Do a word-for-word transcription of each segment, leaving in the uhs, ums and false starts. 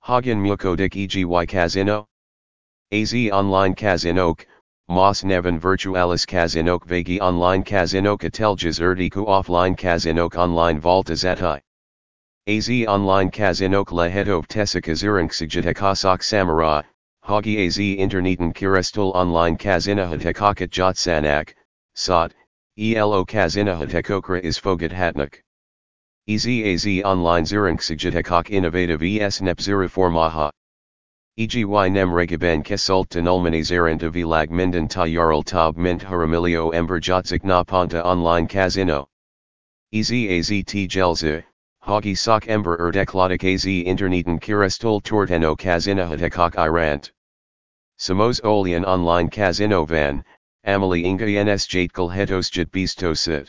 Hagen Mukodik eg Casino? Az online Casinoke, Mas Neven Virtualis Casinoke Vegi online Casinoke Ateljas Erdiku offline Casinoke online Volta Zati. Az online Casinoke Lehetov Tesica Zurinksigitekasak Samara, Hagi Az Interneten Kirestul online Kazinahatekakat Jotsanak, Sot, Elo Kazinahatekokra is Fogat Hatnak. Ez Az online Zurinksigitecok Innovative Es Nepziriformaha. Eg y nem regaben kesult tanulmani zaranta vilag minden ta yarl tab mint haramilio ember jotzik na ponta online Casino. Ez Az t gelza. Hagi sok ember erdeklodik Az interneten kirestul torteno Kazinahatekok irant. Samos olian online Casino van, Amali inga ns jatkal hetosjit bistosit.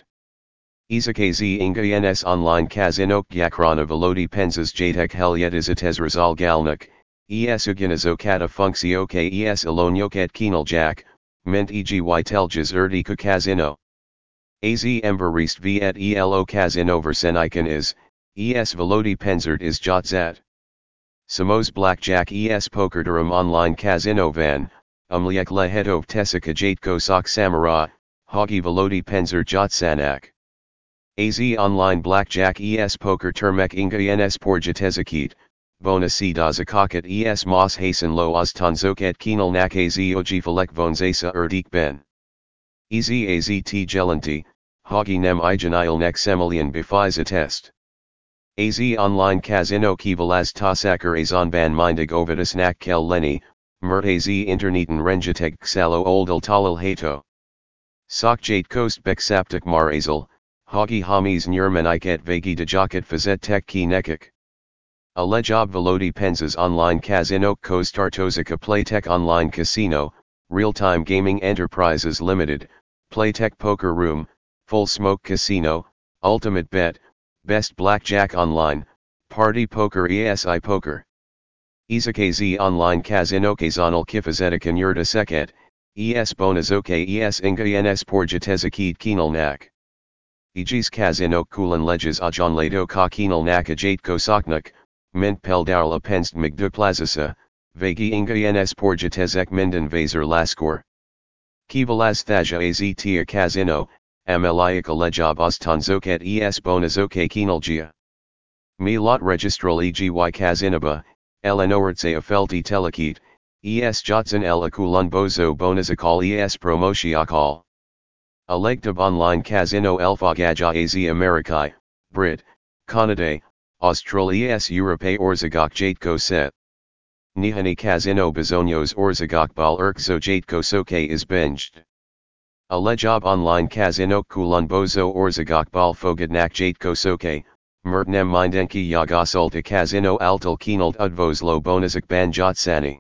Izak Az inga ns online Casinoke Yakrana velodi penzas jatek helyetis rizal galnak, es uginazokata funksio es alonyoket kenal jack, ment eg teljas erdika Casino. Az ember rest v et elo Casino verseniken is, es velodi penzert is jotzat. Samos blackjack es pokerdurum online Casino van, umliek lehetov tesica jatko sok samara, hagi velodi penzer jotsanak. Az online blackjack es poker termek inga ns porjatezakit, bona si dazakakat es mas hasen lo oztanzoket kenal nak az ojifalek vonzasa erdik ben. Ez az t gelanti, hagi nem ijanil nek semelian bifiza test. Az online Casino kivalaz tasakar azon ban mindig ovidus nak kel leni, mert az interneten renjateg xalo oldal talal hato. Sok jate kost beksaptik mar azal, hagi hamis nyermaniket vagi dajakat fazet tek ki nekik. A lejob velodi penzas online Casino Kostartozika Playtech Online Casino, Real-Time Gaming Enterprises Limited, Playtech Poker Room, Full Smoke Casino, Ultimate Bet, Best Blackjack Online, Party Poker esi Poker. Izak Az online Casino Kazanal Kifazetikan Yurda Seket, es Bonazoke es Inga ns Porjatezakid Kenal Nak. Ejis Casino Kulan Lejas Ajan Lato Ka Kenal Nak Ajat Kosaknak, Mint Peldarla Penst Migdu Plazasa, Vagi Inga ns Porjatezek Minden Vaser Laskor. Kivalaz Thaja Az Tia Casino, Ameliaka Lejob Ostanzoket es Bonazoke Kenalgia. Mi lot registral eg y Kazinaba, Elenoritze Afelti Telekit, es Jotzan el Akulun Bozo Bonazakal es Promoshiakal. Alegtab online Casino Elfagaja Az Amerikai, Brit, Canada, Austral es Europe Orzagok Jatko Set. Nihani Casino Bezonios Orzagok Bal Erkzo Jatko Soke is binged. A lejob online Casino Kulun Bozo Orzagok Bal Fogadnak Jatko Soke, Mertnem Mindenki Yagasulta Casino Altal Kenald Udvoslo Bonazak Ban Jotsani.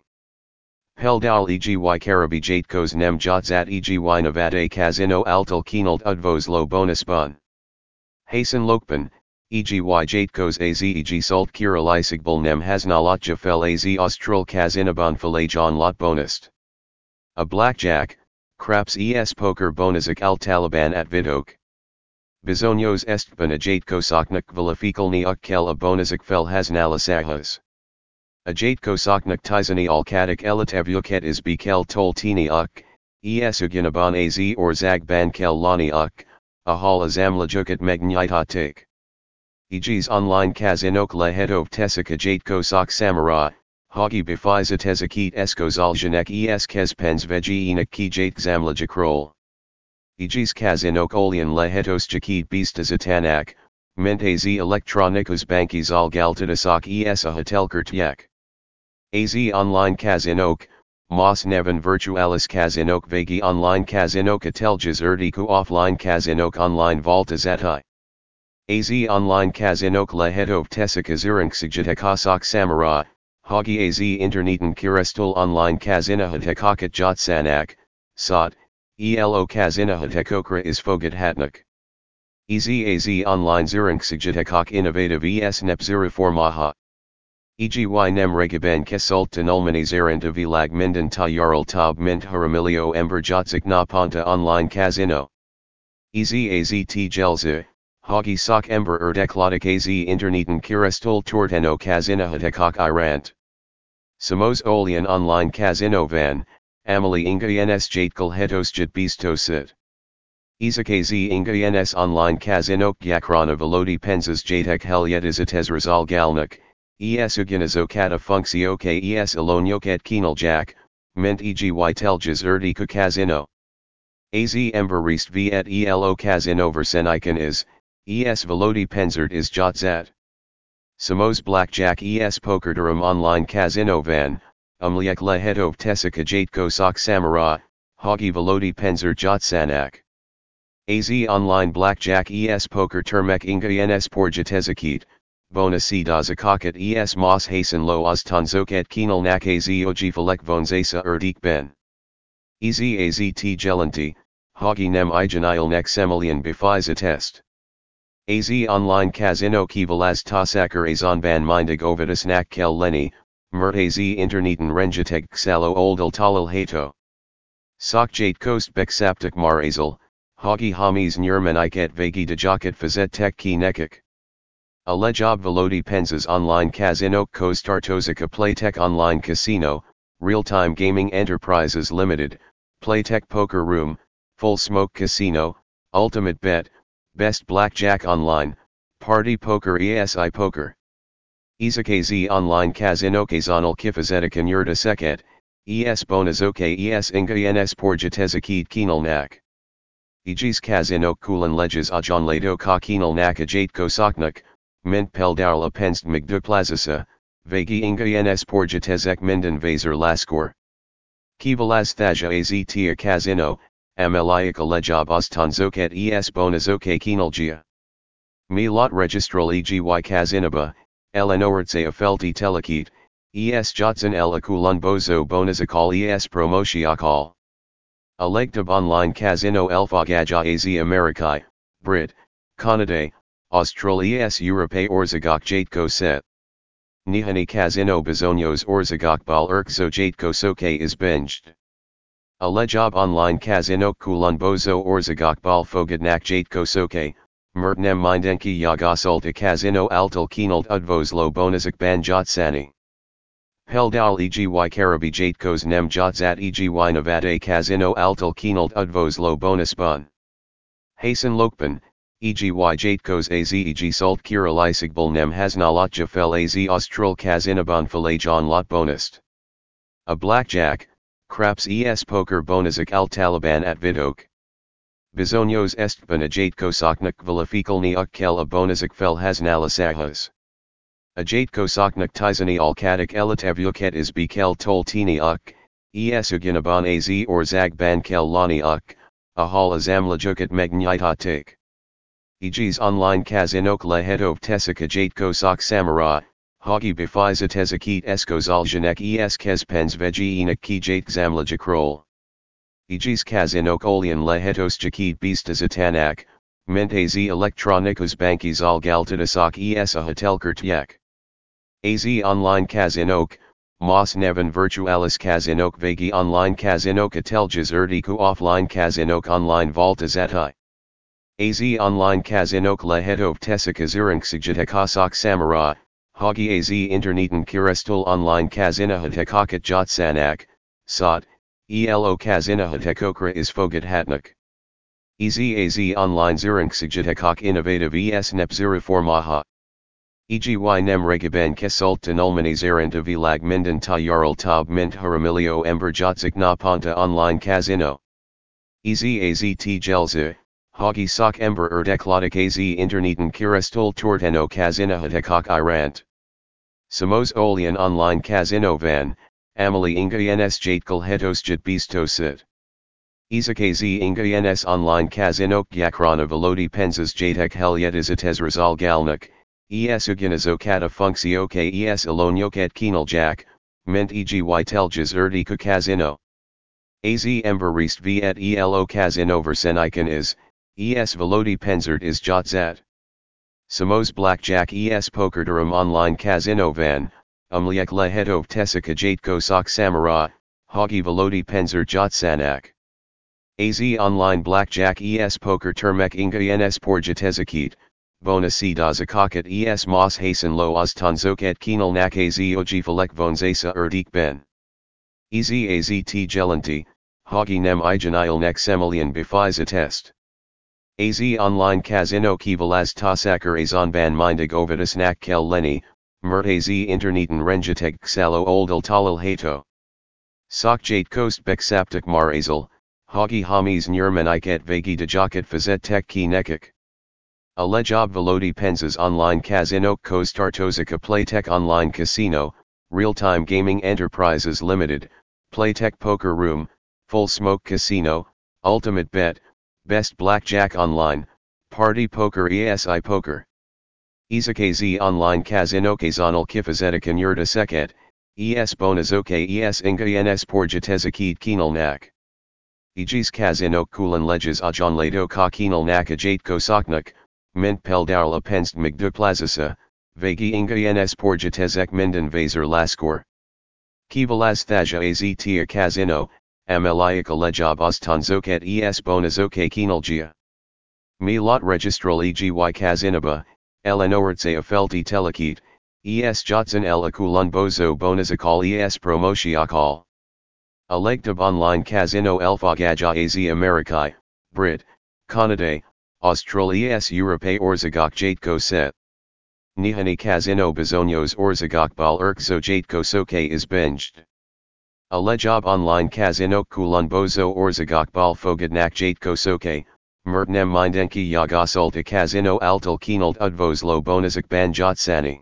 Peldal eg y Karabi Jatkos Nem Jotzat eg y Nevada Casino Altal Kenald Udvoslo Bonusbun. Hasan Lokban, eg y Jatkos Az eg Sult Kiralisagbal Nem Hasnalat Jafel Az Austral Casinaban Falajon Lot Bonust. A blackjack, Craps es Poker Bonazak Al Taliban at Vidok. Bizonios Estban a Jatkosaknak Valafikalni Ukkel a Bonazak Fel Hasnalasahas. A Jatkosaknak Tizani Alkadik Elitavuket is Bekel Toltini Uk, es Uginaban Az or Zagban Kel Lani Uk, Ahal Azamlajukat Megnyitatik. Egis online Kazinok Lehetov Tesica Jatkosak Samara, Hagi Bifiza Tezakit Eskozaljanek es Kezpens Vegi Enak Ki Jatkzamlajakrol. Egis Kazinok Olian Lehetos Jakit Bistazatanak, Ment Az Elektronikos Bankis Al Galtadasak es a Hatelkertyak. Az online Kazinok, Mas Neven Virtualis Kazinok Vegi online Kazinok Ateljas Erdiku offline Kazinok online Volta Zati. Az online Kazinok Lehetov Tesica Zurinksigitekasak Samara, Hagi Az interneten Kirestul online Kazinahatekakat Jotsanak, Sot, Elo Kazinahatekokra is Fogat Hatnak. Ez Az online Zurinksigitecok Innovative es Nepziriformaha. Eg y nem regaben kesult tanulmani zaranta vilag minden ta yarl tab mint haramilio ember jotzik na ponta online Casino. Ez Az t gelza, hagi sok ember erdeklodik Az interneten kirestul torteno Kazinahatekok irant. Samos Olian online casino van, Amali inga ens jatkal hetosjit bistosit. Izakazi inga ens online casino yakrana velodi penzas jatek helyet izates rizal galnak, es uginazo kata funksio k es alonyoket kinal jak, ment eg teljas erdi ku casino. Az emberist v et elo casino verseniken is, es velodi penzert is jotzat. Samos blackjack es pokerdurum online casino van, umliek lehetov tesika jatko sok samara, hogi velodi penzer jotsanak. Az online blackjack es poker termek inga ens porjatezakit, bonasi dazakakat es mas hasen lo oztanzoket kinal nak az oji falek vonzasa erdik ben. Ez az t gelanti, hogi nem ijanil nek semelian befiza test. Az online casino kivalaz tasakar azon ban mindig ovidus nak kel leni, mert az interneten renjateg xalo oldal talal hato. Sok jate kost beksaptik marazal, hogi hamis nyermaniket vagi dajakat fazet tek ki nekik. Alejob velodi penzas online casino kostartozika playtech online casino, real-time gaming enterprises limited, playtech poker room, full smoke casino, ultimate bet, best blackjack online, party poker esi poker. Izakazi online casino kazanal kifazetikan yurda seket, es bonazoke es inga ens porjatezakid kinal nak. Ijis casino kulan leges ajon lato ka kinal nak ajatko soknak, mint peldarla penst migduplazasa, vagi inga ens porjatezek minden vaser laskor. Kivalaz thaja aztia casino, ameliaka lejob ostanzoket es bonazoke kinalgia. Mi lot registral egi kazinaba, elenoritze afelti telekit, es jotsan el akulun bozo bonazakal es promoshiakal. Alegtab online casino elfagaja az Amerikai, Brit, Canada, Austral es Europe orzagok jatko set. Nihani casino bezonios orzagok bal erkzo jatko soke is binged. Alejob online casino kulun bozo orzagok bal fogadnak jatko soke, mertnem mindenki yagasulta casino altal kinalt udvoslo bonazak ban jotsani. Peldal egi karabi jatkos nem jotzat egi navade casino altal kinalt udvoslo bonusbun. Hasan lokpan, egi jatkos az eg salt kiralisigbal nem hasnalatja fel az austral casinaban falajon lot bonust. A blackjack, craps es poker bonazak al taliban at vidok. Bizonios estban a jatkosoknak vilifikalni ukkel a bonazak fel hasnalasahas. A jatkosoknak tizani alkatik elitavuket is bekel toltini uk, es uginaban az or zagban kel lani uk, a hal azamlajukat megnyitatik. Egis online kazinok lehetov tesika jatkosok samara, hogi befiza tezakit eskozaljanek es kezpens vegienik ki jatkzamlajakrol. Egis kazinok olian lehetos jakid bistazatanak, ment az elektronikos bankis algaltadasok es a hotelkertyek. Az online kazinok, mas nevan virtualis kazinok vagi online kazinok ateljas erdiku offline kazinok online voltazati. Az online kazinok lehetov tesika zurinksigjatekosok samara, hogi az interneten kirestul online kazinahatekakat jotsanak, sot, elo kazinahatekokra is fogat hatnak. Ez az online zurinksigjatekok innovative es nepzuriformaha. Egi nem regaben kesult tanulmanis erant vilag minden ta yarl tab mint haramilio ember jotzik na ponta online kazino. Ez az t gelza, hogi sok ember erdeklodik az interneten kirestul torteno kazinahatekok irant. Samos olian online kazino van, amali inga ens jatkal hetosjit bistosit. Izakazi inga ens online kazinok yakrana velodi penzas jatek helyet izates rizal galnak, es uginazo kata funksio k es alonyoket kinal jak, ment eg teljas erdiku kazino. Az emberist v et elo kazino verseniken is, es velodi penzert is jotzat. Samos blackjack es pokerdurum online casino van, umliek lehetov tesika jatko sok samara, hogi velodi penzer jotsanak. Az online blackjack es poker termek inga ens porjatezakit, Bona si da zakakat es mas hasen lo ostanzoket kinal nak az ojifalek vonzasa erdik ben. Ez az t gelanti, hagi nem ijanil nek semelian bifiza test. Az online kazino kivalaz tasakar azon ban mindig ovidus nak kel leni, mert az interneten renjateg xalo oldal talal hato. Sok jate kost beksaptik mar azal, hagi hamis nyermaniket vagi dajakat fazet tek ki nekik. Alejab velodi penzas online kazino kostartozika playtech online casino, real-time gaming enterprises limited, playtech poker room, full smoke casino, ultimate bet, best blackjack online, party poker esi poker. Izakaz online kazino kazanal kifazetik yurda seket, es bonazoke es ingayenes porjatezakid kinal nak. Ijis kazino kulan leges ajon lato ka kinal nak ajate kosaknak, mint peldarla penst migduplazasa, vagi ingayenes porjatezek minden vaser laskor. Kivalaz thaja aztia kazino, ameliaka lejab ostanzoket es bonazoke kinalgia. Mi lot registral egi kazinaba, elenoritze afelti telekit, es jotson el akulun bozo bonazakal es promoshiakal. Alegtab online kazino elfagaja az Amerikai, Brit, Canada, Austral es Europe orzagok jatko set. Nihani kazino bezonios orzagok bal erkzo jatko soke is binged. Alejab online kazino kulun bozo orzagok bal fogadnak jatko soke, mertnem mindenki yagasulta kazino altal kinalt udvoslo bonazak ban jotsani.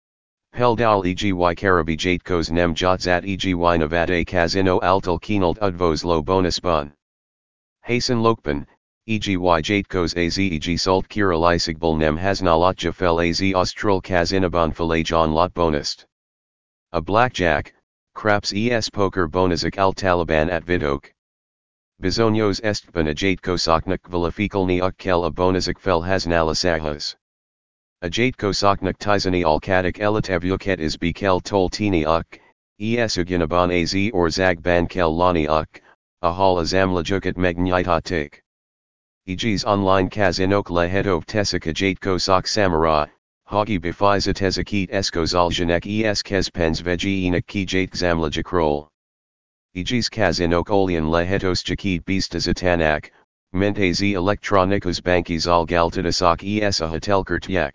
Peldal egi karabi jatkos nem jotzat egi navade kazino altal kinalt udvoslo bonusbun. Hasan lokpan, egi jatkos az eg sult kiralisagbal nem hasnalatja fel az austral kazinaban falajon lot bonust. A blackjack, craps es poker bonazak al taliban at vidok. Bizonyos estban a jatkosaknak vilifikalni ukkel a bonazak fel hasnalasahas. A jatkosaknak tizani alkatik elitavuket is bekel toltini uk, es uginaban az or zagban kel lani uk, a hal azamlajukat magnitatik. Egis online kazinok lehetov tesika jatkosak samara, hagi bifiza tezakit eskozaljanek es kezpens vegienik ki jatkzamlajakrol. Egis kazinok olian lehetos jakid bistazatanak, mint az elektronikos bankis al galtadasak es a hotelkertyek.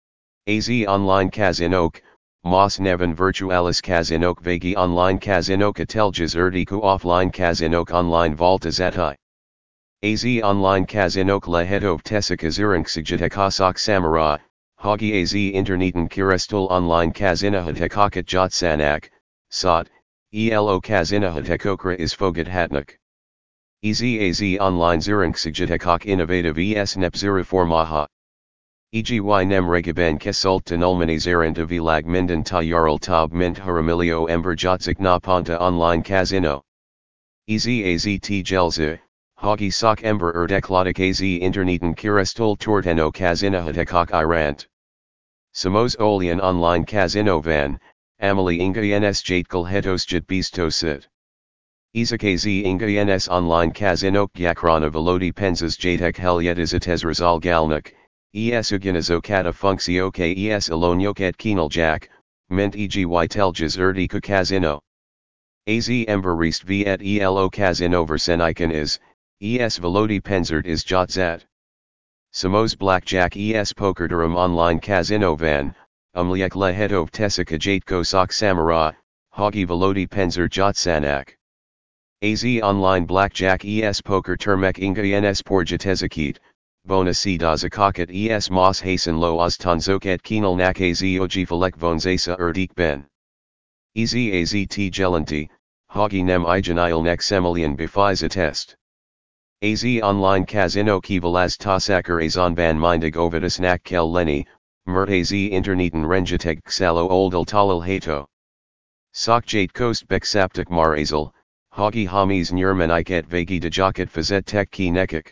Az online kazinok, mas nevan virtualis kazinok vagi online kazinok ateljas erdiku offline kazinok online voltazati. Az online kazinok lehetov tesika zurinksigitakasak samara, hagi az interneten kirestul online kazinahatekakat jotsanak, sot, elo kazinahatekokra is fogat hatnak. Ez az online zurinksigitacok innovative es nepzuriformaha. Egi nem regaben kesult tanulmani zaranta vilag minden ta yarl tab mint haramilio ember jotzik na ponta online kazino. Ez az t gelza, hagi sok ember erdekladik az interneten kirestul torteno kazinahatekok irant. Samos olian online kazino van, amali ingayenes jatkal hetosjit bistosit. Izakaz ingayenes online kazinok yakrana velodi penzas jatek helyetisatez rizal galnak, es uginazokata funksioke es alonyoket kinaljak, mint egi teljas erdiku kazino. Az emberist viet elo kazino versenikan is, es velodi penzert is jotzat. Samos blackjack es pokerdurum online kazino van, umliek lehetov tesika jatkosok samara, hagi velodi penzert jotsanak. Az online blackjack es poker termek ingayenes porjatezakit, bona si da zakakat es mas hasen lo ostanzoket kinal nak az ojifalek vonzasa erdik ben. Ez az t gelanti, hagi nem ijanil nek semelian bifiza test. Az online kazino kivalaz tasakar azon ban mindig ovidus nak kel leni, mert az interneten renjateg xalo oldal talal hato. Sok jate kost beksaptik mar azal, hagi hamis nyermaniket vagi dajakat fazet tek ki nekik.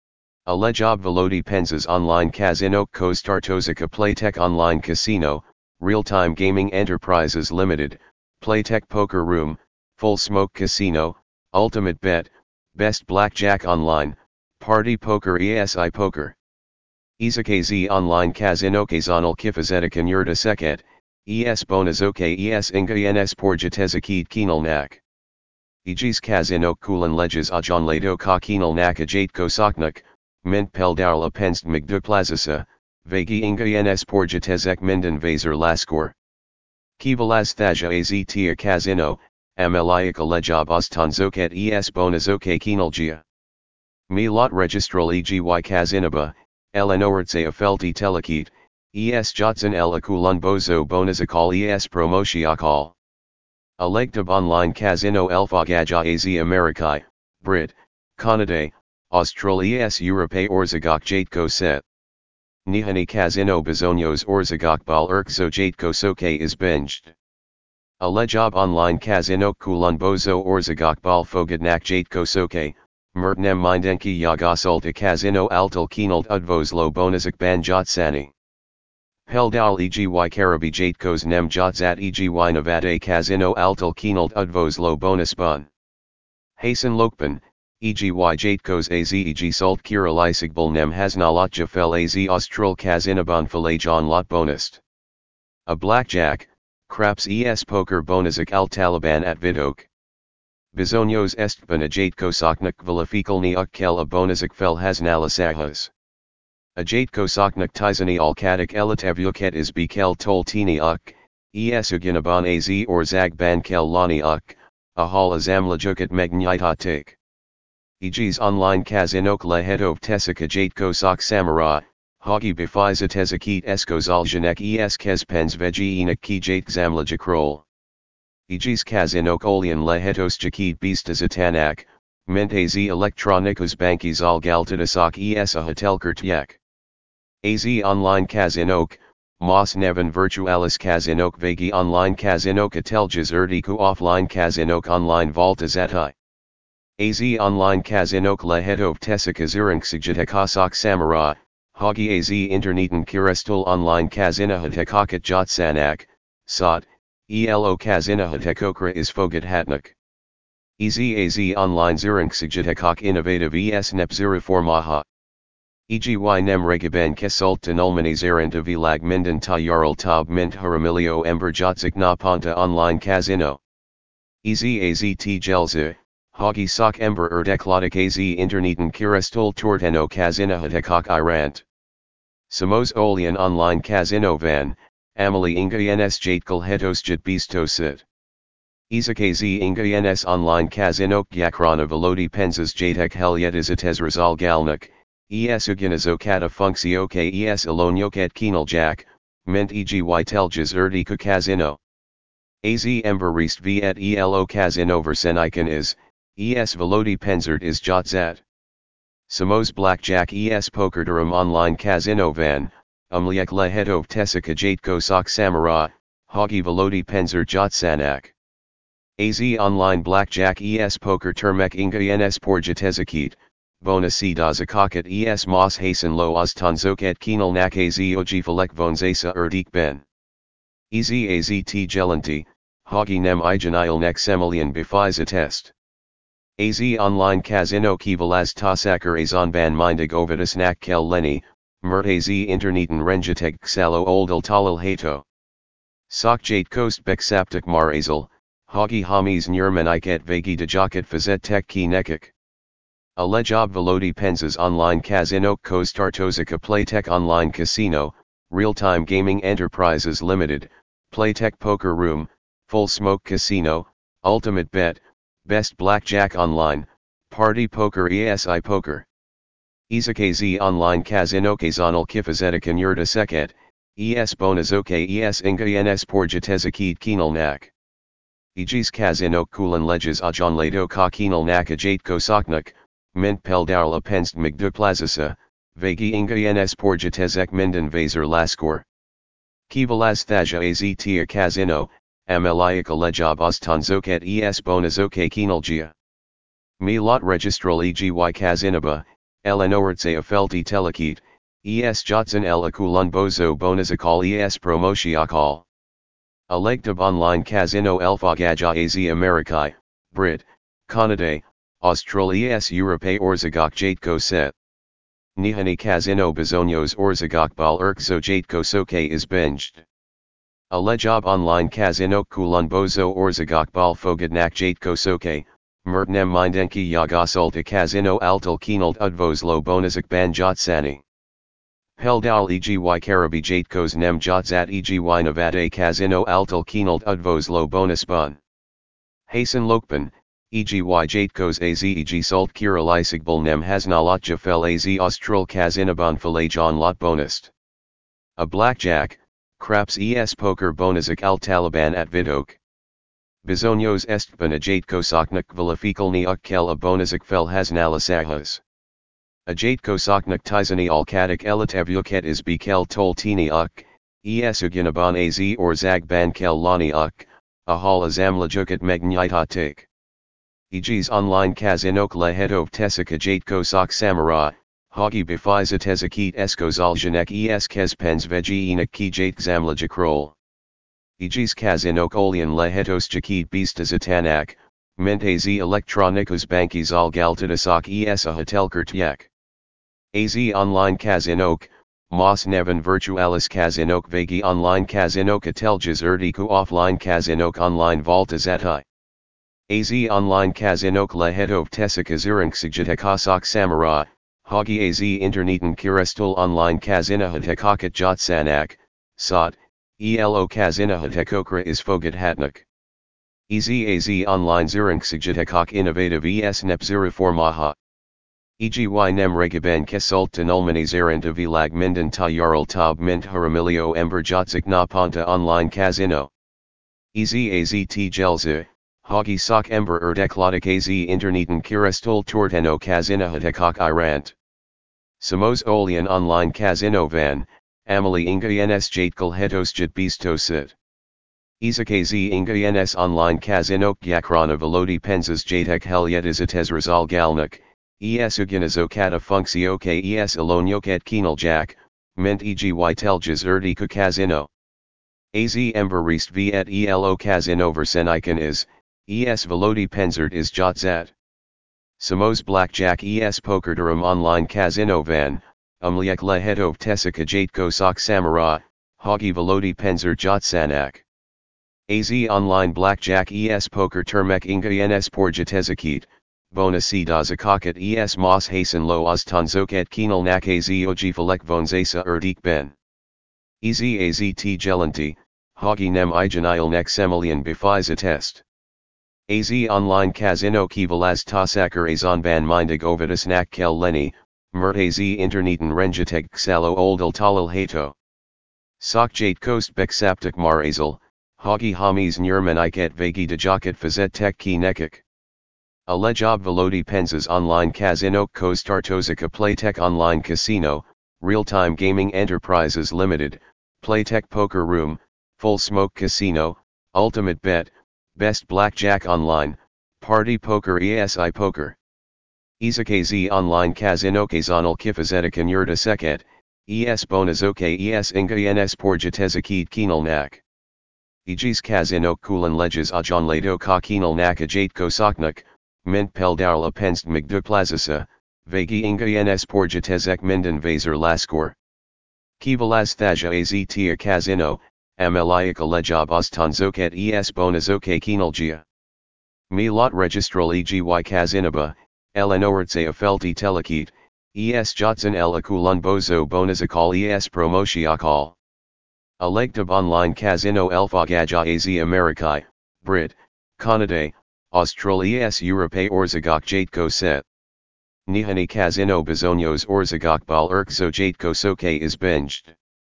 Alejab velodi penzas online kazino kostartozika playtech online casino, real-time gaming enterprises limited, playtech poker room, full smoke casino, ultimate bet, best blackjack online, party poker esi poker. Izakazi online kazino kazanal kifazetik yurda seket, es bonazoke es ingayenes porjatezakid kinalnak. Ejis kazino kulan leges ajon lato ka kinalnak ajate kosaknak, mint peldarla penst migduplazasa, vagi ingayenes porjatezek minden vaser laskor. Kivalaz thaja aztia kazino, ameliaka lejob ostanzoket es bonazoke kinalgia. Mi lot registral egi kazinaba, elenoritze afelti telekit, es jotson el akulun bozo bonazakal es promoshiakal. Alegtab online kazino elfagaja az Amerikai, Brit, Canada, Austral es Europe orzagok jatko set. Nihani kazino bezonios orzagok bal erkzo jatko soke is binged. Alejob online kazino kulun bozo orzagok bal fogadnak jatko soke, Mertnem mindenki yagasulta kazino altal kinalt udvoslo bonazak ban jotsani. Peldal egi karabi jatkos nem jotsat egi navade kazino altal kinalt udvoslo bonusbun. Hasan lokpan, egi jatkos az eg salt kiralisagbal nem hasnalatja fel az austral kazinaban falajon lot bonust. A blackjack, craps es poker bonazak al taliban at vidok. Bizonios estban a jatkosaknak vilifikalni ukkel a bonazak fel hasnalasahas. A jatkosaknak tizani alkadik elitavuket is bekel toltini uk, es uginaban az or zagban kel lani uk, a hal azamlajukat magnyitatik. Egis online kazinok lehetov tesika jatkosak samara, hagi bifiza tezakit eskozaljanek es kezpens vegiinak ki jatkzamlajakrol. Egis kazinok olian lehetos jakid bistazatanak, mentaz elektronikos bankis algaltadasak es a hotelkertyak. Az online kazinok, mas nevan virtualis kazinok vagi online kazinok ateljas erdiku offline kazinok online voltazati. Az online kazinok lehetov tesika zurinksigitakasak samara, hagi az interneten kirestul online kazina hatekakat jotsanak, sot, elo kazina hatekokra is fogat hatnak. Ez az online zurinksigitacok innovative es nepzuriformaha. Egi nem regaben kesult tanulmani zaranta vilag minden ta yarl tab mint haramilio ember jotzik na ponta online kazino. Ez az t gelza, hagi sok ember erdekladik az interneten kirestul torteno kazina hatekok irant. Samos olian online kazino van, amali ingayenes jatkal hetosjit bistosit. Izakazi ingayenes online kazinok yakrana velodi penzas jatek helyetis razal galnak, es uginazokata funksioke es alonyoket kinaljak, mint egi teljas erdika kazino. Az emberist viet elo kazino versenikan is, es velodi penzert is jotzat. Samos blackjack es pokerdurum online kazino van, umliek lehetov tesika jatkosak samara, hagi velodi penzer jotsanak. Az online blackjack es poker termek ingayenes porjatezakit, bonasi dazakakat es mas hasen lo ostanzoket kinalnak az ojifalek vonzasa erdik ben. Ez az t gelanti, hagi nem ijanilnek semelian bifiza test. Az online kazino kivalaz tasakar azon ban mindig ovidasnak kel leni, mert az interneten renjateg ksalo oldal talal hato. Sok jatkost beksaptik marazal, hagi hamis nyermaniket vagi dajakat fazet tek ki nekik. A lejob velodi penzas online kazinok kostartozika Playtech online casino, real-time gaming enterprises limited, Playtech poker room, full smoke casino, ultimate bet, best blackjack online, party poker esi poker. Izakazi online kazino kazanal kifazetikan yurda seket, es bonazoke es ingayenes porjatezakid kinalnak. Egis kazino kulan leges ajon lato ka kinalnak ajatko mint peldarla penst migduplazasa, vagi ingayenes porjatezek minden vaser laskor. Kivalaz thaja az tia kazino, ameliaka lejob ostanzoket es bonazoke kinalgia. Mi lot registral egi kazinaba, elenoritze afelti telekit, es jotson el akulun bozo bonazakal es promoshiakal. Alegtab online kazino elfagaja az Amerikai, Brit, Canada, Austral es Europe orzagok jatko set. Nihani Casino Bizonyos Orzagokbal Erkzo Jatko Soke is binged. A lejob online Casino Kulon Bozo Orzagokbal Fogadnak Jatko Soke, Mertnem Mindenki Yagasolta Casino Altal Kinald Udvoslo Bonizak Ban Jotsani. Peldal Egi Karabi Jatkos Nem Jotzat Egi Navade Casino Altal Kinald Udvoslo Bonusbun. Hasan Lokban, Egi Jatkos Az Egi Salt Kira Lysigbal Nem Hasnalat Jafel Az Austral Kazinaban Falajon Lot Bonust. A blackjack, Craps Es Poker Bonizak Al Taliban at Vidok. Bizonyos Estban a Jatkosoknak Valafikalni Ukkel a Bonizak Fel Hasnalasahas. A Jatkosoknak Tizani Alkadik Elitavuket is Bekel Toltini Uk, Esuginaban Az or Zagban Kel Lani Uk, a Hal Azamlajukat Megnyitatik. Egis online Kazinok Lehetov Tesika Jatkosok Samara, Hagi Bifiza Tezakit Eskozaljanek Es Kespens Vegiinak Ki Jatkzamlajakrol. Egis Kazinok Olian Lehetos Jakid Bistazatanak, Mentaz Elektronikos Bankis Algaltadasok Es a Hotelkertyak. Az online Kazinok, Mas Nevan Virtualis Kazinok Vagi online Kazinok Ateljas Erdiku offline Kazinok online Voltazatai. Az online Kazinok Lehetov Tesika Zurinksigjatekosok Samara, Hagi Az Interneten Kirestul online Kazinahatekakat Jotsanak, Sot, Elo Kazinahatekokra is Fogat Hatnak. Ez Az online Zurinksigjatekok Innovative Es Nepzuriformaha. Egi nem regaben kesult tanulmani zaranta vilag minden tayarul tab mint haramilio ember jotzik na ponta online Kazino. Ez Az t gelza. Hagi sok ember erdeklodik Az interneten kirestul torteno Kazinahatekok irant. Samos olian online Kazino van, Amali inga ens jatkal hetosjat bistosit. Izak Az inga ens online Kazinok yakrana velodi penzas jatek helyetisatez razal galnak, es uginazokata funksioke es alonyoket kinaljak, ment egi teljas erdika Kazino. Az ember rest v et elo Kazino versenikan is, es velodi penzert is jotzat. Samos blackjack es pokerdurum online Kazino van, umliek lehetov tesika jatkosok samara, hagi velodi penzer jotsanak. Az online blackjack es poker termek inga ens porjatezakit, bonasi dazakakat es mas hasen lo ostanzoket kinal nak az oji falek vonzasa erdik ben. Ez az t gelanti, hagi nem ijanil nek semelian bifiza test. Az online Kazino kivalaz tasakar azon ban mindig ovidus nak kel leni, mert az interneten renjateg ksalo oldal talal hato. Sok jatkost beksaptik marazal, hagi hamis nyermaniket vagi dajakat fazet tek ki nekik. A lejob velodi penzas online Kazino Kostartozika Playtech Online Casino, Real-Time Gaming Enterprises Limited, Playtech Poker Room, Full Smoke Casino, Ultimate Bet, Best Blackjack Online, Party Poker ESI Poker. Izak Az online Kazino Kazanal Kifazetika Yurda Seket, Es Bonazoke Es Inga Ens Porjatezakid Kinalnak. Egis Kazino Kulan Lejas Ajon Lato Ka Kinalnak Ajatko Soknak, Mint Peldarla Penst Migduplazasa, Vagi Inga Ens Porjatezek Minden Vaser Laskor. Kivalaz Thaja Az Tia Kazino, Ameliaka Lejob Ostanzoket Es Bonazoke Kinalgia. Mi lot registral Egi Kazinaba, Eleanortse Afelti Telekit, Es Jotson El Akulun Bozo Bonazakal Es Promoshiakal. Alegtab online Kazino Elfagaja Az Amerikai, Brit, Canada, Austral Es Europe Orzagok Jatko Set. Nihani Kazino Bizonyos Orzagokbal Erkzo Jatko Soke is binged.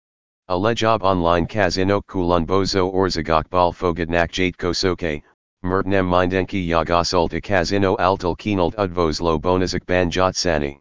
A lejob online Kazino Kulun Bozo Orzagokbal Fogadnak Jatko Soke, Mertnem Mindenki Yagasolta Kazino Altal Kinald Udvoslo Bonizak Ban Jotsani.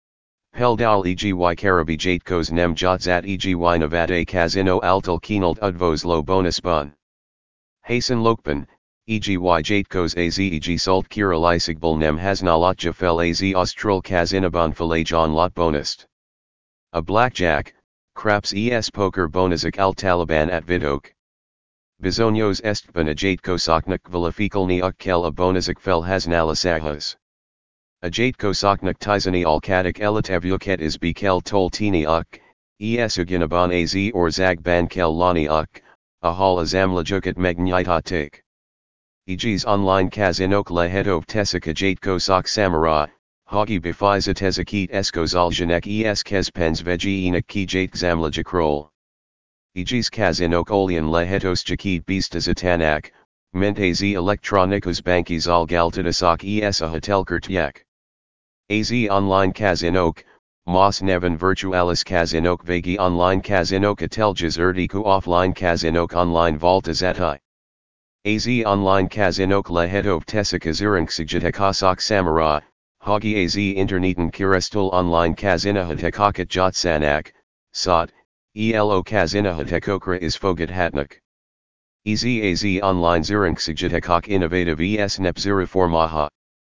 Peldal Egi Karabi Jatkos Nem Jotzat Egi Navade Kazino Altal Kinald Udvoslo Bonusbun. Hasan Lokban, Egi Jatkos Az Egi Salt Kira Lysigbal Nem Hasnalat Jafel Az Austral Kazinaban Falajon Lot Bonust. A blackjack, Craps Es Poker Bonizak Al Taliban at Vidok. Bizonyos Estban a Jatkosoknak Valafikalni Ukkel a Bonizak Fel Hasnalasahas. Ajatko soknak tizani alkatik elitevyuket is bekel toltini uk, esuginaban az or zag bankel lani uk, ahal azamlajukat megnyitatik. Egs online kazinok lehetov tesik ajatko sok samara, hagi bifiza tezakit eskozaljanek es kezpens vegienik kijat zamlajakrol. Egs kazinok olian lehetos jakit bistazatanak, mentaz elektronikos bankis algaltidasok es a hotelkertyak. Az online kazinok, Mas Neven Virtualis Kazinok Vagi Online Kazinok Ateljas Erdiku Offline Kazinok Online Voltazati. Az Online Kazinok Lehetov Tesikazurinksijitakasak Samara, Hagi Az Interneten Kirestul Online Kazinahatekakat Jotsanak, Sot, Elo Kazinahatekokra is Fogat Hatnak. Ez Az Online Zurinksijitakak Innovative Es Nepzuriformaha.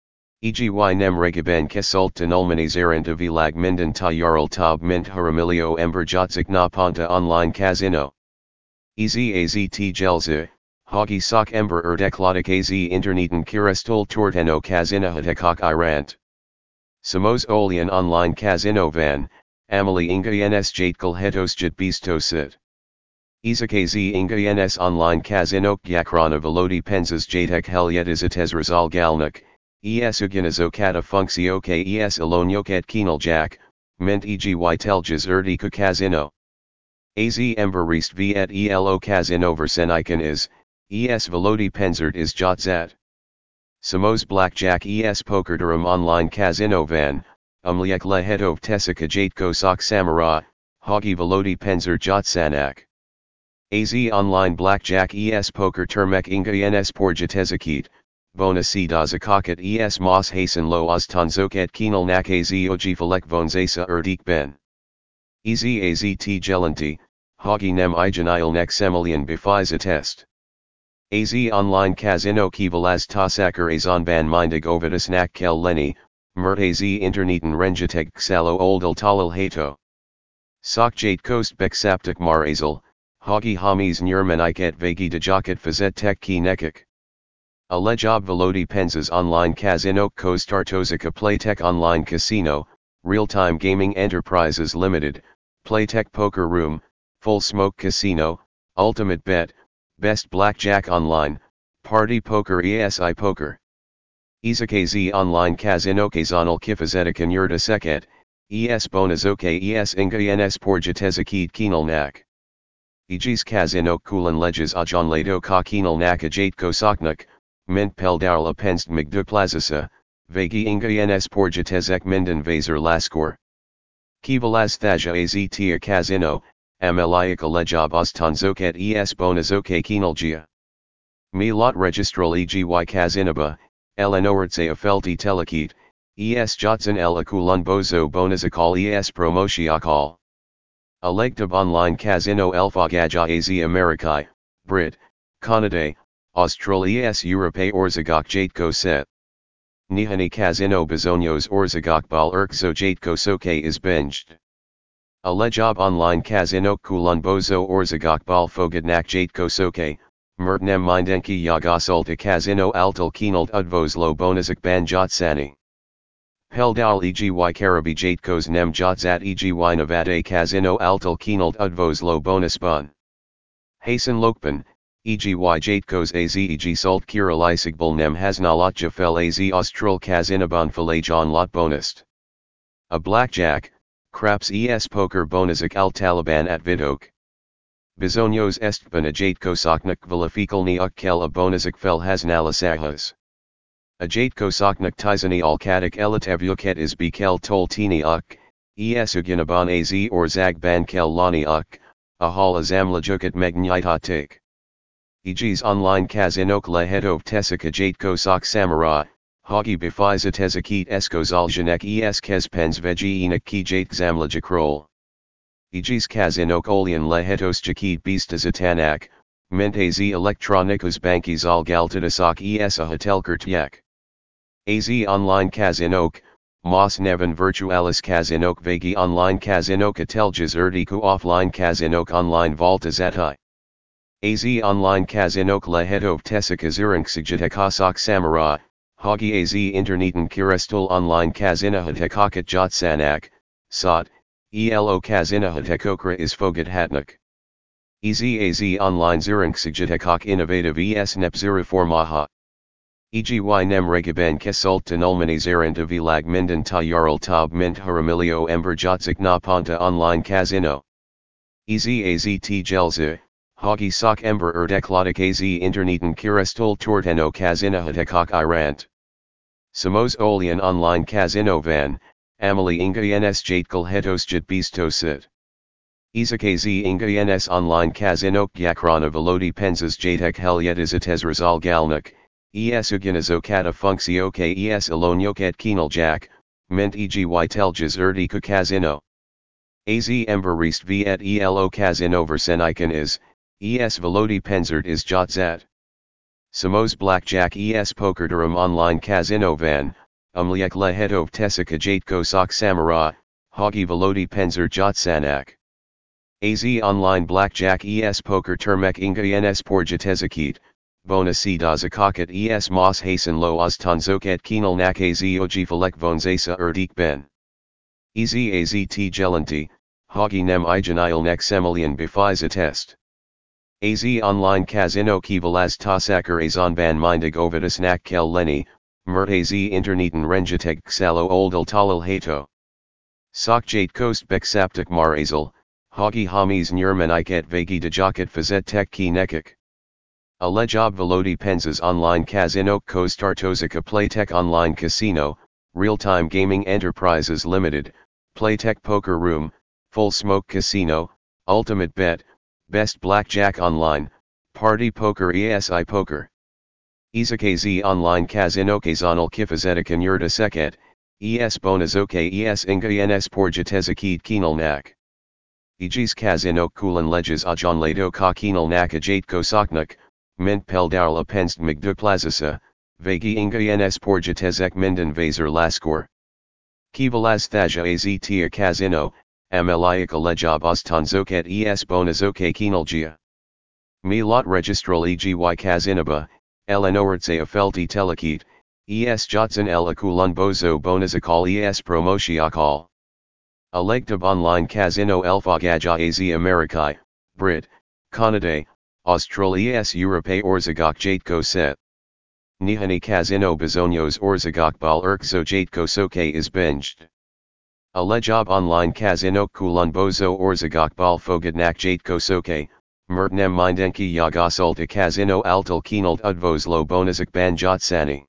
Eg y nem regaban kesult tanulmani zaranta vilag minden tayarul tab mint haramilio emberjotzik na ponta online kazino. Ez az t gelza, hagi sok ember erdeklodik az interneten kirestul torteno kazinahatekak irant. Samos olian online kazino van, amali inga ns jatkal hetosjit bistosit. Izak az inga ns online kazinok yakrana velodi penzas jatek helyetis rizal galnak. Es uginazokata funksioke es alonyoket kinaljak, ment eg teljas erdika kazino. Az emberist v et elo kazino versenikan is, es velodi penzert is jotzat. Samos blackjack es pokerdurum online kazino van, umliek lehetov tesika jatko sok samara, hagi velodi penzer jotsanak. Az online blackjack es poker termek inga ns porjatezakit. Bonasi dazakakat es mas hasen lo oztanzoket kinal nak az ojifalek vonzasa erdik ben. Ez az t gelanti, hagi nem ijanil nek semelian bifiza test. Az online kazino kivalaz tasakar azon ban mindig ovidus nak kel leni, mert az interneten renjateg ksalo oldal talal hato. Sok jate kost beksaptik marazal, hagi hamis nyermaniket vagi dajakat fazet tek ki nekik. Alejob velodi penzas online kazinok kostartozika Playtech Online Casino, Real-Time Gaming Enterprises Limited, Playtech Poker Room, Full Smoke Casino, Ultimate Bet, Best Blackjack Online, Party Poker esi Poker. Izakazi Online Kazinok Azonal Kifazetika Yurda Seket, Es Bonazoke Es Inga Ns Porjatezakid Kinal Nak. Egis Kazinok Kulan Leges Ajon Lato Ka Kinal Nak Ajatko Soknak, Mint Peldarla Penst Migduplazasa, Vagi Inga Ns Porjatezek Minden Vaser Laskor. Kivalaz Thaja Aztia Kazino, Ameliaka Lejob Ostanzoket Es Bonazoke Kinalgia. Mi lot registral Eg y Kazinaba, Eleanortse Afelti Telekit, Es Jotson El Akulun Bozo Bonazakal Es Promoshiakal. Alegtab Online Kazino Elfagaja Az Amerikai, Brit, Canada, Australias Europe Orzagok Jatko Set. Nihani Kazino Bezonios Orzagok Bal Erkzo Jatko Soke is binged. Alejob Online Kazino Kulun Bozo Orzagok Bal Fogadnak Jatko Soke, Mertnem Mindenki Yagasulta Kazino Altal Kinalt Udvoslo Bonazak Ban Jotsani. Peldal Eg y Karabi Jatkos Nem Jotzat Eg y Nevada Kazino Altal Kinalt Udvoslo Bonusbun. Hasan Lokpan, Eg y Jatkos Az Eg Sult Kiralisigbal Nem Hasnalotja Fel Az Austral Kazinaban Falajon Lot Bonust. A Blackjack, Craps Es Poker Bonazak Al Taliban at Vidok. Bizonios Estban a Jatkosoknak Valafikalni Ukkel a Bonazak Fel Hasnalasahas. A Jatkosoknak Tizani Alkatik Elitevyuket is Bekel Toltini Uk, Esuginaban Az or Zag Bankel Lani Uk, Ahal Azamlajukat Megnyitatik. Egs Online Kazinok Lehetov Tesika Jatkosok Samara, Hagi Bifiza Tezakit Eskozaljanek Es Kezpens Vegienik Ki Jatkzamlajakrol. Egs Kazinok Olian Lehetos Jakit Bistazatanak, Mentaz Elektronikos Bankis Algaltidasok Es a Hotelkertyak. Az Online Kazinok, Mas Neven Virtualis Kazinok Vagi Online Kazinok Ateljas Erdiku Offline Kazinok Online Voltazati. Az Online Kazinok Lehetov Tesika Zurinksijitakasak Samara, Hagi az interneten kirestul online kazinahatekakat jotsanak, sot, elo kazinahatekokra is fogat hatnak. Ez az online zurinksigjatekok innovative es nepzuriformaha. Eg y nem regaban kesult tanulmani zaranta vilag minden tayarul tab mint haramilio ember jotzik na ponta online kazino. Ez az t gelza, hagi sok ember erdeklodik az interneten kirestul torteno kazinahatekok irant. Samos olian online kazino van, amali inga ens jatkal hetosjat bistosit. Izak az inga ens online kazinok yakrana velodi penzas jatek helyetisatez rizal galnak, es uganizokata funksioke es alonyoket kinaljak, ment eg teljas erdika kazino. Az ember rest v et elo kazino versenikan is, es velodi penzert is jotzat. Samos blackjack es pokerdurum online kazino van, umliek lehetov tesika jatko sok samara, hagi velodi penzer jotsanak. Az online blackjack es poker termek inga ens porjatezakit, bonasi dazakakat es mas hasen lo ostanzoket kinal nak az ojifalek vonzasa erdik ben. Ez az t gelanti, hagi nem ijanil nek semelian bifiza test. Az online kazino kivalaz tasakar azon ban mindig ovidus nak kel leni, mert az interneten renjateg xalo oldal talal hato. Sok jate kost beksaptik marazal, hagi hamis nyermaniket vagi dajakat fazet tek ki nekik. A lejob velodi penzas online kazino kostartozika playtech online casino, real-time gaming enterprises limited, playtech poker room, full smoke casino, ultimate bet, best blackjack online, party poker esi poker. Izakazi online kazino kazanal kifazetika yurda seket, es bonazoke es inga ens porjatezakid kinal nak. Ejis kazino kulan leges ajon lato ka kinal nak ajatko soknak, mint peldarla penst migduplazasa, vagi inga ens porjatezek minden vaser laskor. Kivalaz thaja az tia kazino, ameliaka lejob ostanzoket es bonazoke kinalgia. Mi lot registral egi kazinaba, elenoertse afelti telekit, es jotsan el akulun bozo bonazakal es promoshiakal. Alegtab online kazino elfagaja az Amerikai, Brit, Canada, Australia es Europe orzagok jatko set. Nihani kazino bezonios orzagok bal erkzo jatko soke is binged. Alejob online kazino kulun bozo orzagok bal fogadnak jatko soke, mertnem mindenki yagasulta kazino altal kinalt udvos lo bonazak ban jotsani.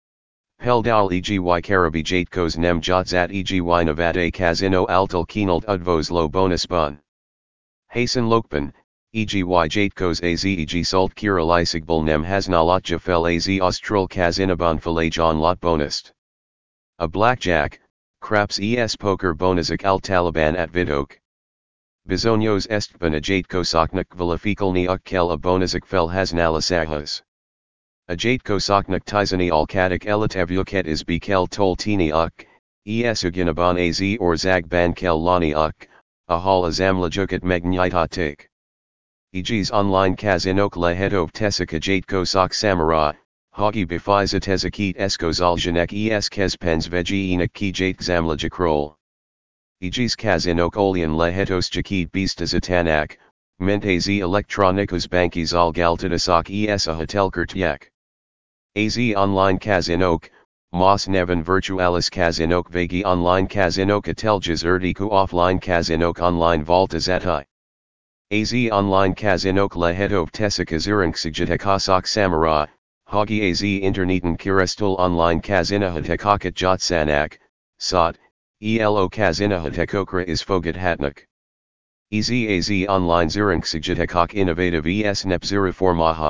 Peldal egi karabi jatkos nem jotzat egi navade kazino altal kinalt udvos lo bonus bun. Hasan lokpan, egi jatkos az eg sult kira lysigbal nem hasnalotja fel az austral kazinaban falajon lot bonust. A blackjack, craps es poker bonazak al taliban at vidok. Bizonios estban a jatkosoknak vilifikalni ukkel a bonazak fel hasnalasahas. A jatkosoknak tizani alkadik elitavuket is bekel toltini uk, es uginaban az or zag ban kel lani uk, a hal azamlajukat megnyitatik. Egis online kazinok lehetov tesika jatkosok samara, hagi bifiza tezakit eskozaljanek es kespens vegiinak ki jatkzamlajakrol. Egis kazinok olian lehetos jakid bistazatanak, ment az elektronikos bankis al galtadasok es a hotelkertyak. Az online kazinok, mas nevan virtualis kazinok vagi online kazinok ateljas erdiku offline kazinok online voltazati. Az online kazinok lehetov tesika zurinksigjatekosok samara, hagi az interneten kirestul online kazinahatekakat jotsanak, sot, elo kazinahatekokra is fogat hatnak. Ez az online zurinksigjatekok innovative es nepzuriformaha.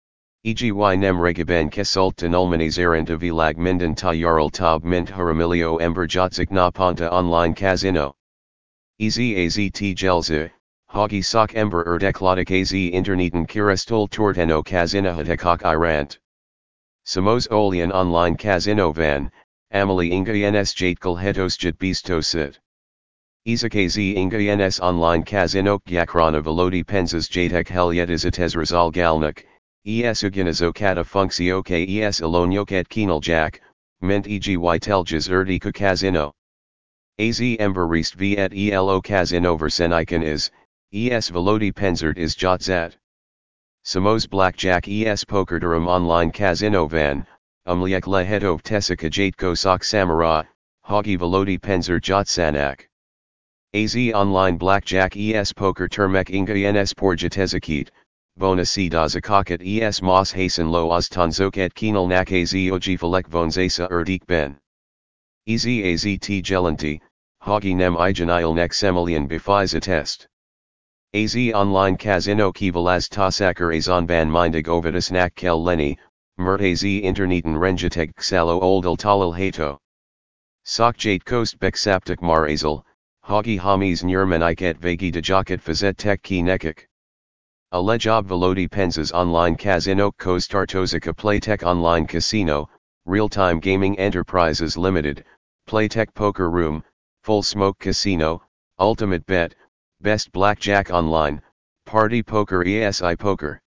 Eg y nem regaban kesult tanulmani zaranta vilag minden tayarul tab mint haramilio ember jotzik na ponta online kazino. Ez az t gelza, hagi sok ember erdeklodik az interneten kirestul torteno kazinahatekok irant. Samos olian online kazino van, amali inga ens jatkal hetosjat bistosit. Izak az inga ens online kazinok yakrana velodi penzas jatek helyetisatez rizal galnak, es uginazokata funksio kes alonyoket kinaljak, ment eg telges erdika kazino. Az emberist v et elo kazino verseniken is, es velodi penzert is jotzat. Samos blackjack es pokerdurum online kazino van, umliek lehetov tesika jatko sok samara, hogi velodi penzer jotsanak. Az online blackjack es poker termek inga ens porjatezakit, bonasi dazakakat es mos hasen lo oztanzoket kinal nak az oji falek vonzasa erdik ben. Ez az t gelanti, hogi nem ijanil nek semelian befiza test. Az online kazino kivalaz tasakar azon ban mindig ovidus nak kel leni, mert az interneten renjateg xalo oldal talal hato. Sok jate kost beksaptik mar-azal, hogi hamis nyermaniket vagi dajakat fazet tek ki nekik. A lejob velodi penzas online kazino kostartozika playtech online casino, real-time gaming enterprises limited, playtech poker room, full smoke casino, ultimate bet, best blackjack online, party poker esi poker.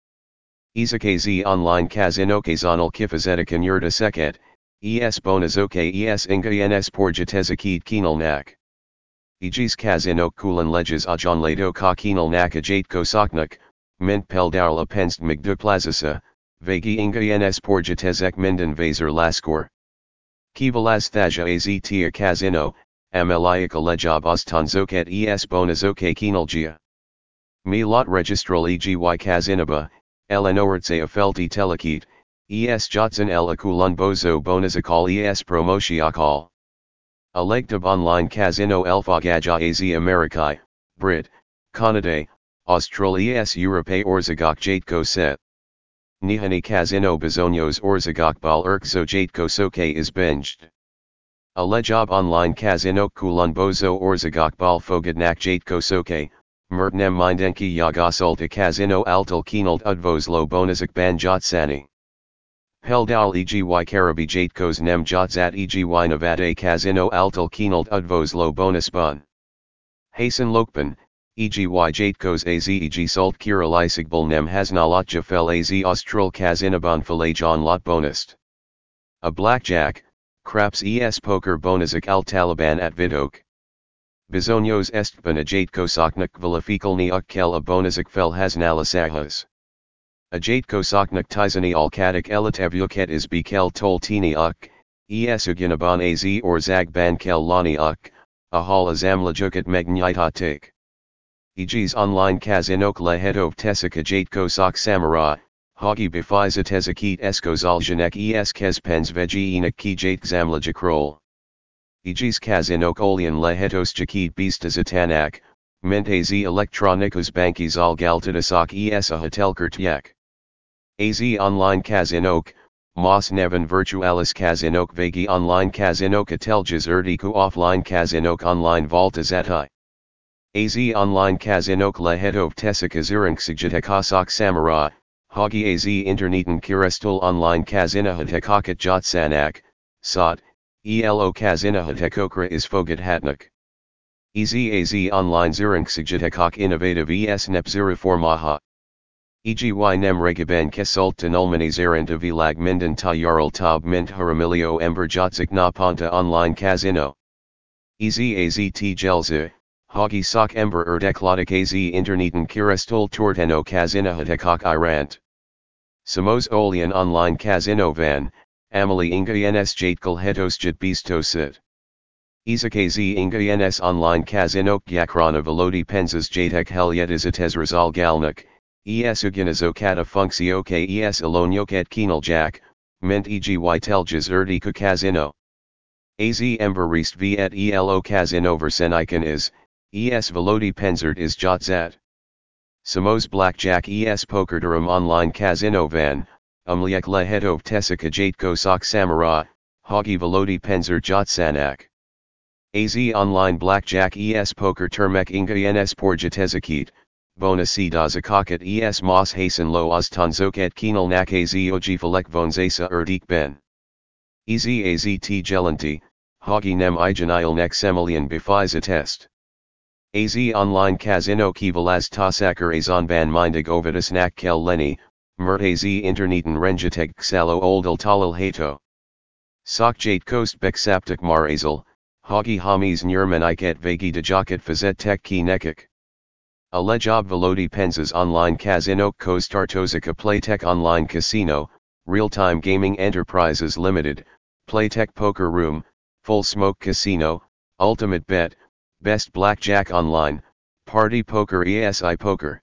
Izakaz online kazino kazanal kifazetika yurda seket, es bonazoke es inga ens porjatezakid kinal nak. Ijis kazino kulan leges ajon lato ka kinal nak ajate kosaknak, mint peldarla penst migduplazasa, vagi inga ens porjatezek minden vaser laskor. Kivalaz thaja aztia kazino, ameliaka lejob ostanzoket es bonazoke kinalgia. Mi lot registral egi kazinaba, elenoertse afelti telekit, es jotsan el akulun bozo bonazakal es promoshiakal. Alegtab online kazino elfagaja az Amerikai, Brit, Canada, Australia es Europe orzagok jatko set. Nihani kazino bezonios orzagok bal erkzo jatko soke is binged. A lejob online kazino kulun bozo orzagok bal fogadnak jatko soke, mertnem mindenki yagasulta kazino altal kinalt udvos lo bonazak ban jotsani. Peldal egi karabi jatkos nem jotzat egi navade kazino altal kinalt udvos lo bonus bun. Hasan lokpan, egi jatkos az eg sult kira lysigbal nem hasnalatja fel az austral kazinaban falajon lot bonust. A blackjack, craps es poker bonazak al taliban at vidok. Bizonios estban a jatkosaknak valafikalni ukkel a bonazak fel hasnalasahas. A jatkosaknak tizani alkadik elitevyuket is bekel toltini uk, es uginaban az or zag ban kel lani uk, a hal azamlajukat megnyitatik. Egis online kazinok lehetov tesika jatkosak samara, hogi befiza tezakit eskozaljanek es kespens vegiinak ki jatkzamlajakrol. Egis kazinok olian lehetos jakid bistazatanak, ment az elektronikos bankis al galtadasak es a hotelkertyak. Az online kazinok, Mos neven virtualis kazinok vagi online kazinok ateljas erdiku offline kazinok online voltazati. Az online kazinok lehetov tesika zurinksigitakasak samara, hogi az interneten kirestul online kazinahatekakat jotsanak, sot, elo kazinahatekokra is fogadhatnak. Ez az online zurinksigitakaak innovative es nepzuriformaha. Eg nem regaben kesulta nulmani zaranta vilag minden tayaral tab mint haramilio ember jotzik na ponta online kazino. Ez az t gelza, hogi sok ember erdekladik az interneten kirestul torteno kazinahatekak irant. Samos olian online kazino van, amali inga ens jatkal hetosjit bistosit. Izakaz inga ens online kazinok yakrana velodi penzas jatek helyetisatez rizal galnak, es uginazokata funksio kes alonyoket kinaljak, ment eg teljas erdiku kazino. Az emberist v et elo kazino verseniken is, es velodi penzert is jotzat. Samos blackjack es pokerdurum online kazino van, umliek lehetov tesika jatko sok samara, hogi velodi penzer jotsanak. Az online blackjack es poker termek inga ens porjatezakit, bonasi dazakakat es mos hasen lo oztanzoket kinal nak az oji falek vonzasa erdik ben. Ez az t gelanti, hogi nem ijanil nek semelian befiza test. Az online kazino kivalaz tasakar azon ban mindig ovidus nak kel leni, Mert az interneten rengeteg xalo oldal talal hato. Sok kost beksaptak marazal, hagi hamis nyermaniket vagi dajakat fazet tek ki nekik. A lejob velodi penzas online casino kostartozika Playtech online casino, real-time gaming enterprises limited, Playtech poker room, full smoke casino, ultimate bet, best blackjack online, party poker esi poker.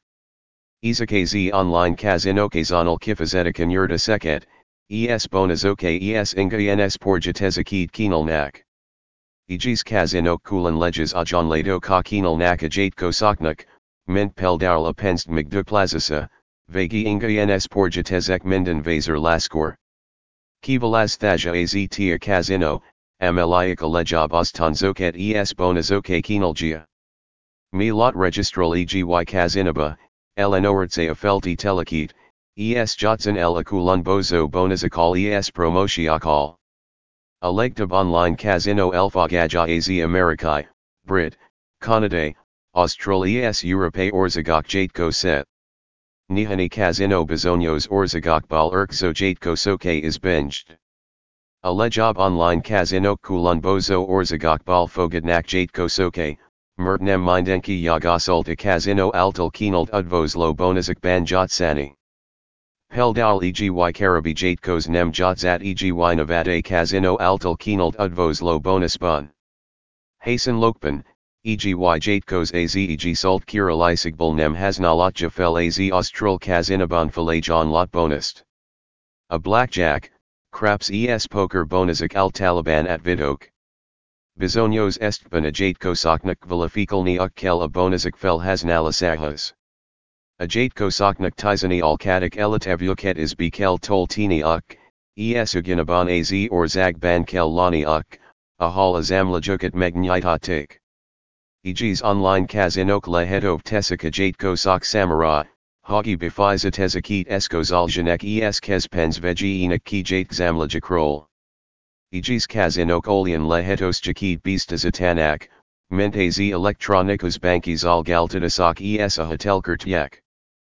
Izakaz online casino kazanal kifazetika yurda seket, es bonazoke es ingayenes porjatezakid kinalnak. Ijis casino kulan leges ajan lato ka kinalnak ajate kosaknak, mint peldarla penst migduplazasa, vagi ingayenes porjatezek minden vaser laskor. Kivalaz thaja aztia casino, ameliaka lejob ostanzoket es bonazoke kinalgia. Mi lot registral egi kazinaba, elenoertse afelti telekit, es jotsan el akulun bozo bonazakal es promoshiakal. Alegtab online casino elfagaja az Amerikai, Brit, Canada, Australia es Europe orzagok jatko set. Nihani casino bezonios orzagok bal erkzo jatko soke is binged. Alejob online casino kulun bozo orzagok bal fogadnak jatko soke, mertnem mindenki yagasulta casino altal kinalt udvos lo bonazak ban jotsani. Peldal egi karabi jatkos nem jotsat egi navade casino altal kinalt udvos lo bonus bun. Hasan lokpan, egi jatkos az eg sult kira lysigbal nem hasnalatja fel az austral casinaban falajon lot bonust. A blackjack, craps es poker bonazak al taliban at vidok. Bizonios estban a jatkosaknak valafikalni ukkel a bonazak fel hasnalasahas. A jatkosaknak tizani alkadik elitavuket is bekel toltini uk, esuginaban az or zagban kel lani uk, a hal azamlajukat megnyitatik. Egis online kazinok lehetov tesika jatkosak samara, hagi bifiza tezakit eskozaljanek es kespens vegiinak ki jatkzamlajakrol. Egis kazinok olian lehetos jakit bistazatanak, ment az elektronikos bankis al galtadasak es a hotelkertyek.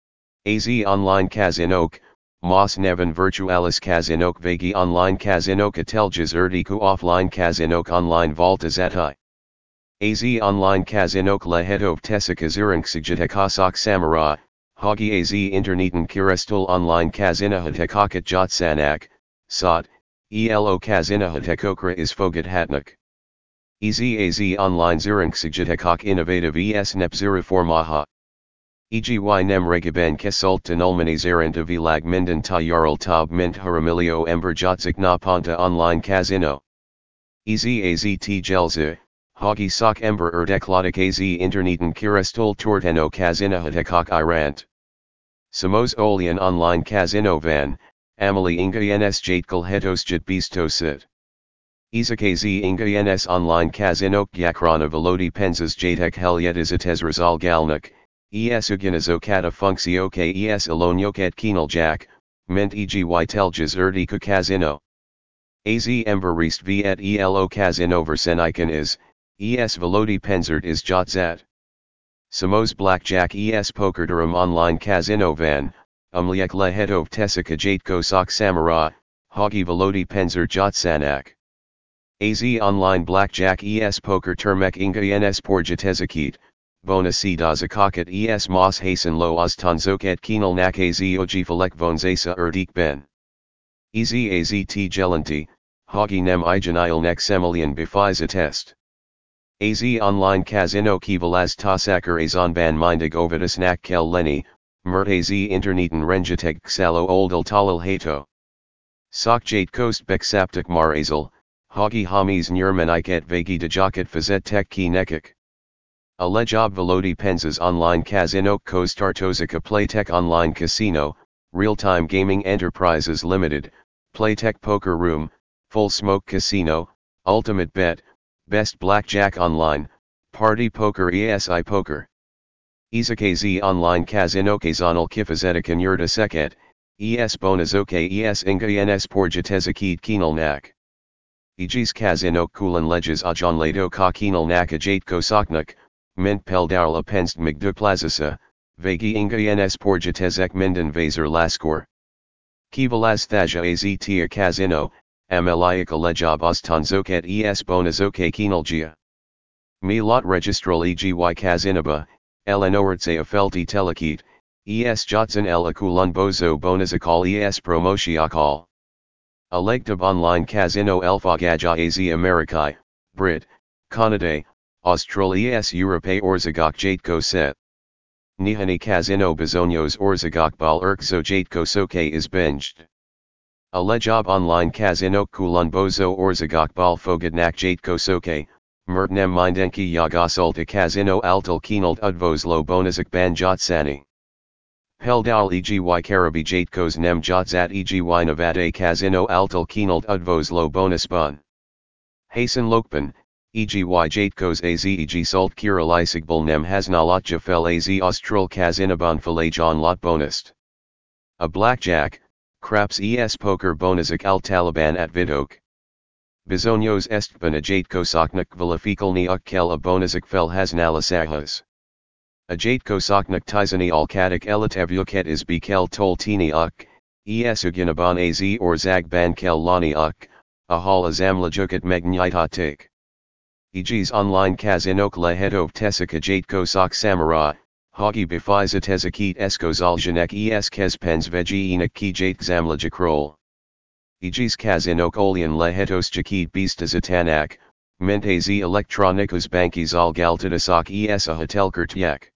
Az online kazinok, mas neven virtualis kazinok vagi online kazinok ateljas erdiku offline kazinok online voltazati. Az online kazinok lehetov tesika zurinksigitakasak samara, hagi az interneten kirestul online kazinahatekakat jotsanak, sot, elo kazinahatekokra is fogat hatnak. Ez az online zurinksigitakaak innovative es nep zuriformaha. Egi nem regaben kesulta nulmanis aranta vilag minden tayaral tab mint haramilio ember jotzik na ponta online casino. Ez az t gelza, hagi sok ember erdekladik az interneten kirestul torteno kazinahatekak irant. Samos olian online casino van, amali ingayenes jatkal hetosjit bistosit. Izakaz ingayenes online kazinok yakrana velodi penzas jatek helyetis rizal galnak, es uginazokata funksioke es alonyoket kinaljak, mint egi teljas erdiku casino. Az ember rest v et elo casino versenikan is, es velodi penzert is jotzat. Samos blackjack es pokerdurum online casino van, umliek lehetov tesika jatkosak samara, hagi velodi penzer jotsanak. Az online blackjack es poker termek ingayenes porjatezakit, bonasi dazakakat es mas hasan lo ostanzoket kinalnak az ojifalek vonzasa erdik ben. Ez az t gelanti, hagi nem ijanilnek semelian bifiza test. Az online casino kivalaz tasakar azon ban mindig ovidasnak kel leni, mert az interneten rengeteg xalo oldal talal hato. Sok jatkost beksaptak marazal, hagi hamis nyermaniket vagi dajakat fazet tek ki nekik. A lejob velodi penzas online casino kostartozika Playtech online casino, real-time gaming enterprises limited, Playtech poker room, full smoke casino, ultimate bet, best blackjack online, party poker esi poker. Izakaz online casino kazanal kifazetika yurda seket, es bonazoke es ingayenes porjatezakid kinalnak. Egis casino kulan leges ajan lato ka kinalnak ajatko mint peldarla penst migduplazasa, vagi ingayenes porjatezek minden vaser laskor. Kivalas thaja aztia casino, ameliaka lejob ostanzoket es bonazoke kinalgia. Mi lot registral egi kazinaba, elenoertse afelti telekit, es jotson el akulun bozo bonazakal es promotioakal. Electab online casino elfagaja az Americae, Brit, Canada, Austral es Europe orzagok jatko set. Nihani casino bezonios orzagok bal erkzo jatko soke is binged. Alejob online casino kulun bozo orzagok bal fogadnak jatko soke, mertnem mindenki yagasulta casino altal kinalt udvos lo bonazak ban jotsani. Peldal egi karabi jatkos nem jotsat egi navade casino altal kinalt udvos lo bonus bun. Hasan lokpan, egi jatkos az eg sult kiralisagbal nem hasnalatja fel az austral casinaban falajon lot bonust. A blackjack, craps es poker bonazak al taliban at vidok. Bizonios estban a jatkosoknak valafikalni ukkel a bonazak fel hasnalasahas. A jatkosoknak tizani alkatak elitavuket is bekel toltini uk, es uginaban az or zagban kel lani uk, a hal azamlajukat magnyitatik. Egis online kazinok lehetov tesika jatkosok samara, hagi bifiza tezakit eskozaljanek es kespens vegiinak ki jatkzamlajakrol. Egis kazinok olian lehetos jakit bistazatanak, ment az elektronikos bankis al galtadasok es a hotelkertyak.